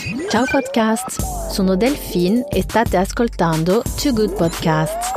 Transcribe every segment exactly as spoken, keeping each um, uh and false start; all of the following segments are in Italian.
Ciao podcast, sono Delphine e state ascoltando Too Good Podcast.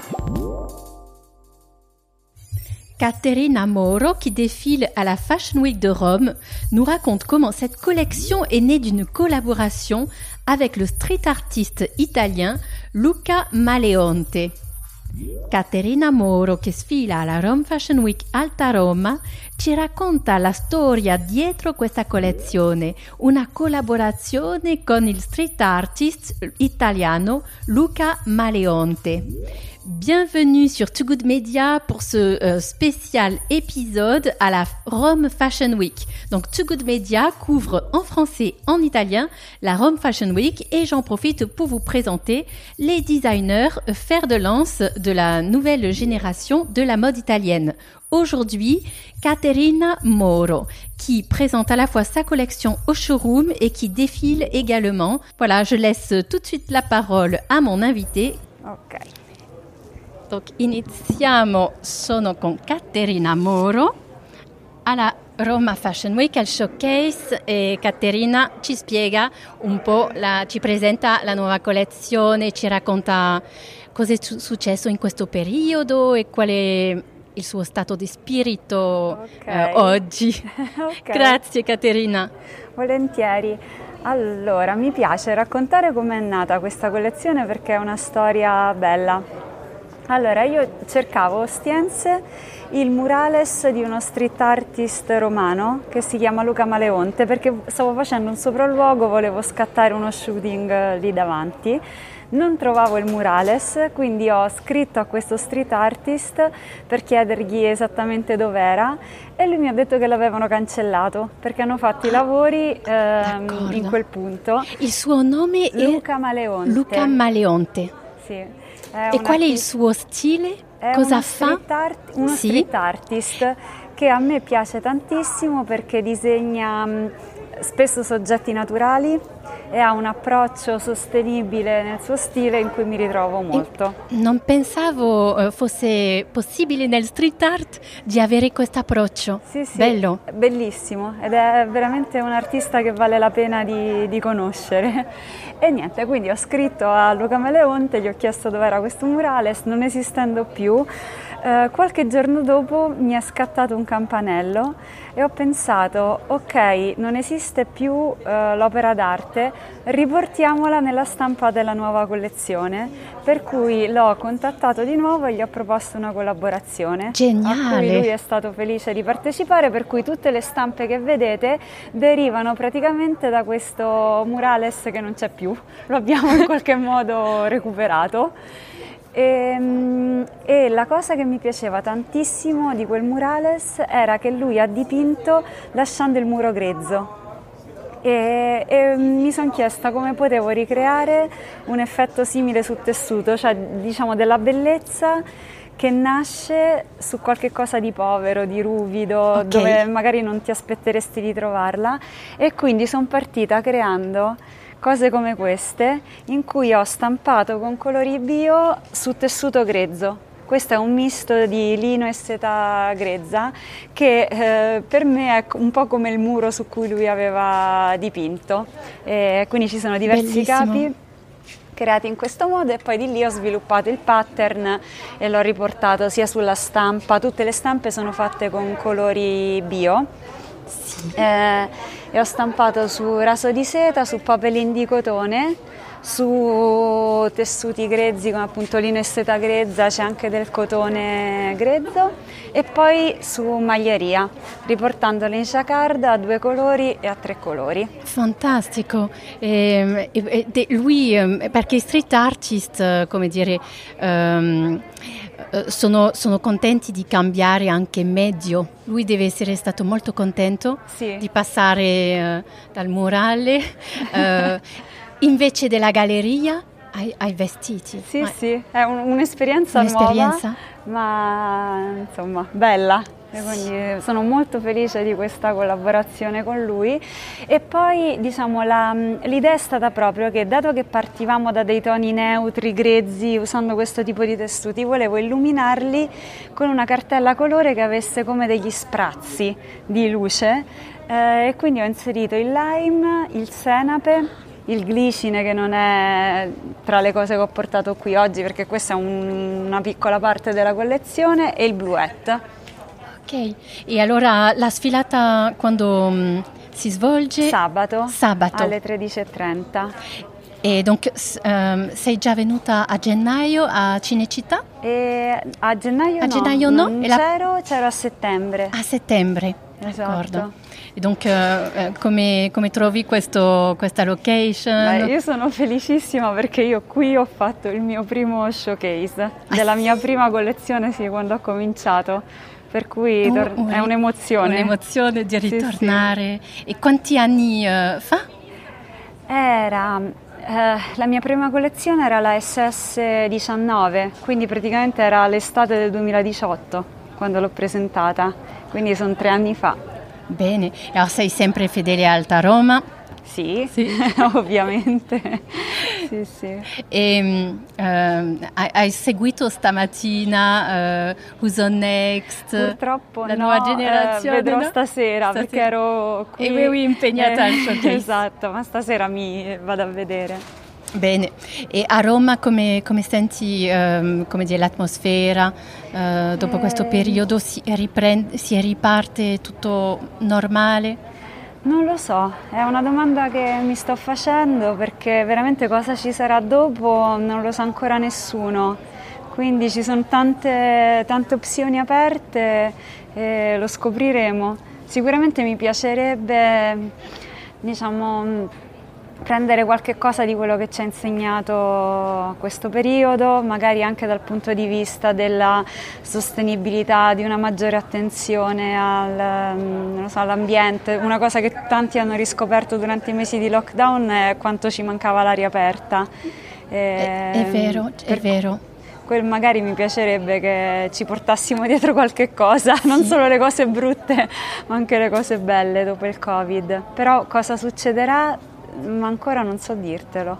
Caterina Moro, qui défile à la Fashion Week de Rome, nous raconte comment cette collection est née d'une collaboration avec le street artiste italien Luca Maleonte. Caterina Moro, che sfila alla Rome Fashion Week Alta Roma, ci racconta la storia dietro questa collezione, una collaborazione con il street artist italiano Luca Maleonte. Bienvenue sur Too Good Media pour ce euh, spécial épisode à la Rome Fashion Week. Donc Too Good Media couvre en français et en italien la Rome Fashion Week et j'en profite pour vous présenter les designers fer de lance de la nouvelle génération de la mode italienne. Aujourd'hui, Caterina Moro, qui présente à la fois sa collection au showroom et qui défile également. Voilà, je laisse tout de suite la parole à mon invité. Ok. Donc, iniziamo, sono con Caterina Moro alla Roma Fashion Week, al showcase, e Caterina ci spiega un po', la, ci presenta la nuova collezione, ci racconta cosa è su- successo in questo periodo e qual è il suo stato di spirito okay. eh, oggi. Okay. Grazie Caterina. Volentieri. Allora, mi piace raccontare com'è nata questa collezione perché è una storia bella. Allora, io cercavo a Ostiense il murales di uno street artist romano che si chiama Luca Maleonte perché stavo facendo un sopralluogo, volevo scattare uno shooting lì davanti. Non trovavo il murales, quindi ho scritto a questo street artist per chiedergli esattamente dov'era e lui mi ha detto che l'avevano cancellato perché hanno fatto i lavori ehm, in quel punto. Il suo nome è Luca Maleonte. Luca Maleonte. Sì. E qual è il suo stile? È Cosa uno fa? Street art, uno sì. street artist che a me piace tantissimo perché disegna mh, spesso soggetti naturali e ha un approccio sostenibile nel suo stile in cui mi ritrovo molto. E non pensavo uh, fosse possibile nel street art di avere questo approccio. Sì, sì, bello. Bellissimo ed è veramente un artista che vale la pena di, di conoscere. E niente, quindi ho scritto a Luca Maleonte, gli ho chiesto dov'era questo murales, non esistendo più. Uh, qualche giorno dopo mi è scattato un campanello e ho pensato, ok, non esiste più uh, l'opera d'arte, riportiamola nella stampa della nuova collezione, per cui l'ho contattato di nuovo e gli ho proposto una collaborazione. Geniale! A cui lui è stato felice di partecipare, per cui tutte le stampe che vedete derivano praticamente da questo murales che non c'è più, lo abbiamo in qualche modo recuperato. E, e la cosa che mi piaceva tantissimo di quel murales era che lui ha dipinto lasciando il muro grezzo e, e mi sono chiesta come potevo ricreare un effetto simile sul tessuto, cioè diciamo della bellezza che nasce su qualche cosa di povero, di ruvido, okay, dove magari non ti aspetteresti di trovarla, e quindi sono partita creando cose come queste in cui ho stampato con colori bio su tessuto grezzo. Questo è un misto di lino e seta grezza che eh, per me è un po' come il muro su cui lui aveva dipinto. E quindi ci sono diversi Bellissimo. capi creati in questo modo e poi di lì ho sviluppato il pattern e l'ho riportato sia sulla stampa. Tutte le stampe sono fatte con colori bio. Sì. Eh, e ho stampato su raso di seta, su papelin di cotone, su tessuti grezzi come appunto lino e seta grezza, c'è anche del cotone grezzo, e poi su maglieria, riportandole in jacquard a due colori e a tre colori. Fantastico. E, e, e, lui, perché i street artist, come dire, um, sono, sono contenti di cambiare anche medio. Lui deve essere stato molto contento sì. di passare uh, dal murale uh, invece della galleria ai, ai vestiti. Sì, ma, sì, è un, un'esperienza, un'esperienza nuova, ma insomma bella. E quindi sono molto felice di questa collaborazione con lui. E poi diciamo la, l'idea è stata proprio che, dato che partivamo da dei toni neutri, grezzi, usando questo tipo di tessuti, volevo illuminarli con una cartella colore che avesse come degli sprazzi di luce, eh, e quindi ho inserito il lime, il senape il glicine, che non è tra le cose che ho portato qui oggi perché questa è un, una piccola parte della collezione, e il bluette. Ok, e allora la sfilata quando mh, si svolge? Sabato, Sabato. alle tredici e trenta. E donc s- ehm, sei già venuta a gennaio a Cinecittà? E a gennaio A no, gennaio no? non E la- c'ero, c'ero a settembre. A settembre, Esatto. d'accordo. E donc eh, eh, come, come trovi questo, questa location? Beh, io sono felicissima perché io qui ho fatto il mio primo showcase della mia prima collezione, sì, quando ho cominciato, per cui Oh, tor- un- è un'emozione. Un'emozione di Sì, sì. ritornare. E quanti anni eh, fa? Era, eh, la mia prima collezione era la S S diciannove, quindi praticamente era l'estate del duemiladiciotto quando l'ho presentata, quindi sono tre anni fa. Bene, e allora sei sempre fedele a Alta Roma. Sì, Sì. ovviamente. Sì, sì. E mh, ehm, hai, hai seguito stamattina eh, Who's on Next? Purtroppo la no, nuova generazione? eh, vedrò no? stasera, Stasera. perché ero qui. Eri impegnata al showcase. Esatto, ma stasera mi vado a vedere. Bene, e a Roma come, come senti ehm, come dire, l'atmosfera? Eh, dopo Eh, questo periodo si, riprende, si riparte tutto normale? Non lo so, è una domanda che mi sto facendo perché veramente cosa ci sarà dopo non lo sa ancora nessuno. Quindi ci sono tante, tante opzioni aperte e lo scopriremo. Sicuramente mi piacerebbe, diciamo, prendere qualche cosa di quello che ci ha insegnato questo periodo, magari anche dal punto di vista della sostenibilità, di una maggiore attenzione al, non lo so, all'ambiente. Una cosa che tanti hanno riscoperto durante i mesi di lockdown è quanto ci mancava l'aria aperta. È, è vero, è per- vero. quel magari mi piacerebbe che ci portassimo dietro qualche cosa, non solo le cose brutte, ma anche le cose belle dopo il Covid. Però cosa succederà? Ma ancora non so dirtelo.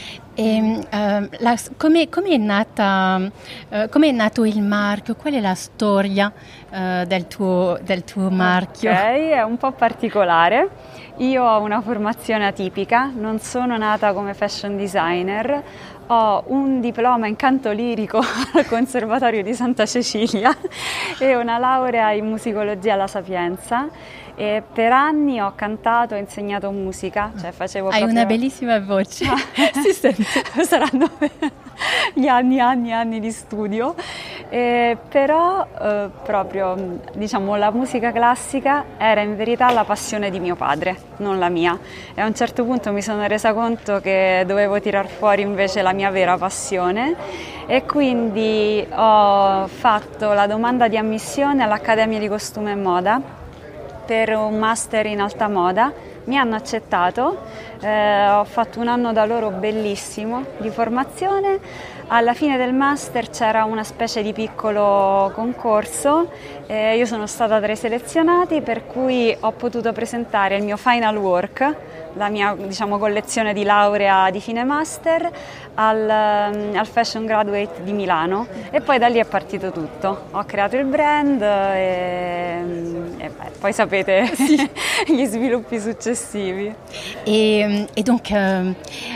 E, ehm, la- come, come è nata, eh, come è nato il marchio? Qual è la storia eh, del tuo, del tuo marchio? Ok, è un po' particolare. Io ho una formazione atipica, non sono nata come fashion designer, ho un diploma in canto lirico al Conservatorio di Santa Cecilia e una laurea in musicologia alla Sapienza. E per anni ho cantato e insegnato musica, cioè facevo Hai proprio... una bellissima voce, si sente. Saranno gli anni, anni, anni di studio, eh, però eh, proprio diciamo la musica classica era in verità la passione di mio padre, non la mia. E a un certo punto mi sono resa conto che dovevo tirar fuori invece la mia vera passione e quindi ho fatto la domanda di ammissione all'Accademia di Costume e Moda per un master in alta moda. Mi hanno accettato, eh, ho fatto un anno da loro bellissimo di formazione. Alla fine del master c'era una specie di piccolo concorso, eh, io sono stata tra i selezionati, per cui ho potuto presentare il mio final work, la mia diciamo, collezione di laurea di fine master al, al Fashion Graduate di Milano e poi da lì è partito tutto. Ho creato il brand e, e beh, poi sapete gli sviluppi successivi. E, e donc eh,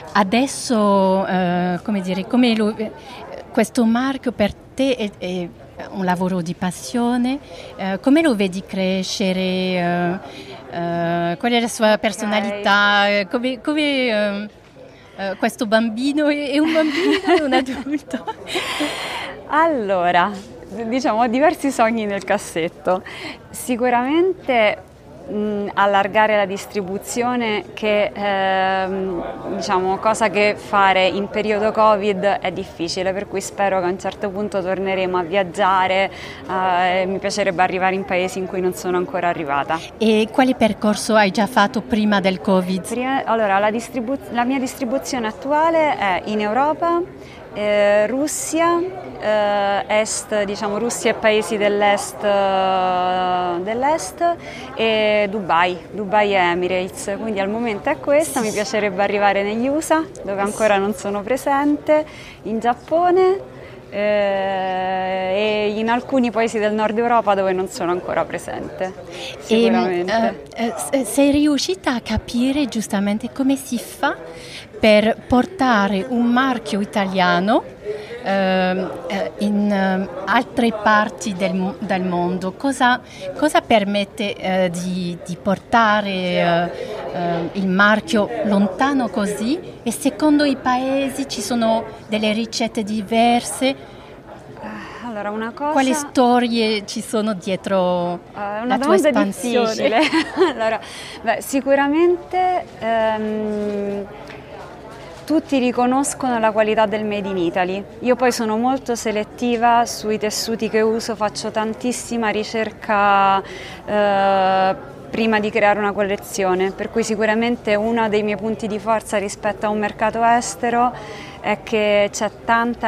adesso, eh, come dire, come lo, eh, questo marchio per te è, è un lavoro di passione, eh, come lo vedi crescere? Eh, eh, qual è la sua personalità? Eh, Come, come eh, eh, questo bambino è, è un bambino o un adulto? Allora, diciamo ho diversi sogni nel cassetto. Sicuramente mh, allargare la distribuzione, che ehm, diciamo cosa che fare in periodo Covid è difficile, per cui spero che a un certo punto torneremo a viaggiare, eh, mi piacerebbe arrivare in paesi in cui non sono ancora arrivata. E quale percorso hai già fatto prima del Covid? Prima- allora, la, distribu- la mia distribuzione attuale è in Europa, eh, Russia, eh, Est, diciamo Russia e paesi dell'Est, eh, dell'Est e Dubai, Dubai e Emirates, quindi al momento è questa, mi piacerebbe arrivare negli U S A dove ancora non sono presente, in Giappone, eh, e in alcuni paesi del nord Europa dove non sono ancora presente, sicuramente. E, uh, sei riuscita a capire giustamente come si fa per portare un marchio italiano uh, in uh, altre parti del, del mondo? Cosa, cosa permette uh, di, di portare uh, uh, il marchio lontano così? E secondo i paesi ci sono delle ricette diverse? Allora, una cosa... Quali storie ci sono dietro uh, la tua espansione? Allora, beh, sicuramente ehm, tutti riconoscono la qualità del Made in Italy. Io poi sono molto selettiva sui tessuti che uso, faccio tantissima ricerca eh, prima di creare una collezione, per cui sicuramente uno dei miei punti di forza rispetto a un mercato estero è che c'è tanta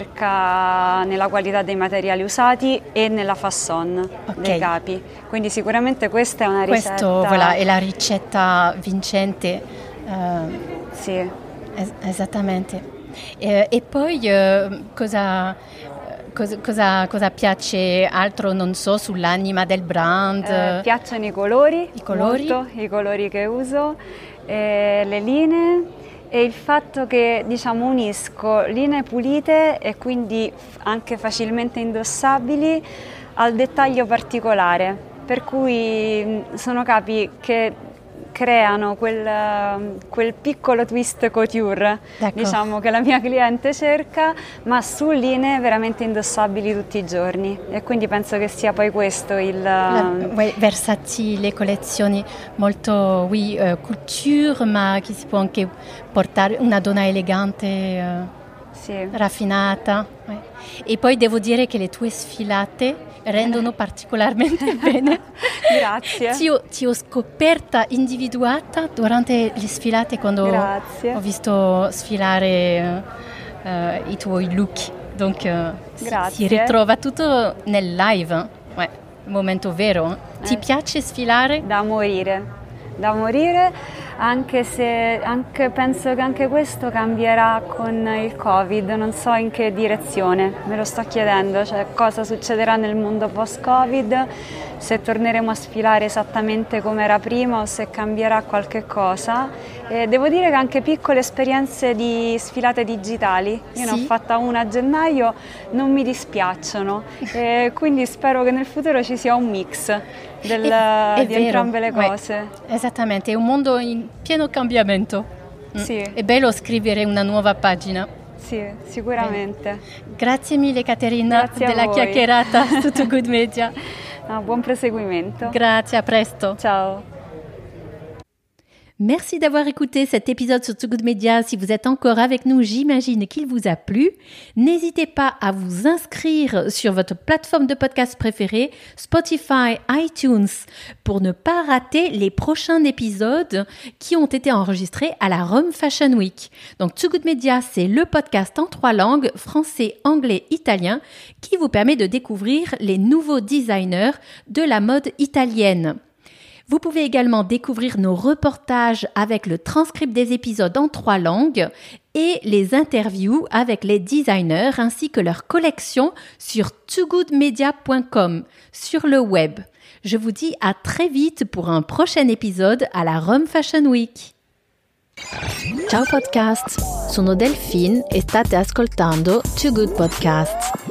ricerca nella qualità dei materiali usati e nella façon okay. dei capi, quindi sicuramente questa è una ricetta. Questo voilà, è la ricetta vincente. Uh, sì. Es- esattamente. E, e poi uh, cosa, cosa, cosa, cosa piace altro, non so, sull'anima del brand? Eh, piacciono i colori, I colori? Molto, i colori che uso, eh, le linee. E il fatto che, diciamo, unisco linee pulite e quindi anche facilmente indossabili al dettaglio particolare, per cui sono capi che creano quel, quel piccolo twist couture, D'accordo. diciamo, che la mia cliente cerca, ma su linee veramente indossabili tutti i giorni, e quindi penso che sia poi questo il... La, ouais, versatili, collezioni molto, oui, uh, couture, ma che si può anche portare una donna elegante, uh, sì. raffinata. Ouais. E poi devo dire che le tue sfilate rendono particolarmente bene. Grazie. Ti ho, ti ho scoperta individuata durante le sfilate quando Grazie. ho visto sfilare uh, uh, i tuoi look. Donc uh, si, si ritrova tutto nel live. Ouais, momento vero. Eh. Ti piace sfilare? Da morire. Da morire, anche se anche, penso che anche questo cambierà con il Covid, non so in che direzione, me lo sto chiedendo, cioè cosa succederà nel mondo post-Covid, se torneremo a sfilare esattamente come era prima o se cambierà qualche cosa. E devo dire che anche piccole esperienze di sfilate digitali, io sì. ne ho fatta una a gennaio, non mi dispiacciono, e quindi spero che nel futuro ci sia un mix del, è, è di vero. entrambe le cose. Ouais. Esattamente, è un mondo in pieno cambiamento. Sì. È bello scrivere una nuova pagina. Sì, sicuramente. Eh. Grazie mille Caterina Grazie della voi. chiacchierata su Too Good Media. No, buon proseguimento. Grazie, à presto. Ciao. Merci d'avoir écouté cet épisode sur Too Good Media. Si vous êtes encore avec nous, j'imagine qu'il vous a plu. N'hésitez pas à vous inscrire sur votre plateforme de podcast préférée, Spotify, iTunes, pour ne pas rater les prochains épisodes qui ont été enregistrés à la Rome Fashion Week. Donc Too Good Media, c'est le podcast en trois langues, français, anglais, italien, qui vous permet de découvrir les nouveaux designers de la mode italienne. Vous pouvez également découvrir nos reportages avec le transcript des épisodes en trois langues et les interviews avec les designers ainsi que leurs collections sur too good media point com sur le web. Je vous dis à très vite pour un prochain épisode à la Rome Fashion Week. Ciao podcast, sono Delphine e state ascoltando Too Good Podcast.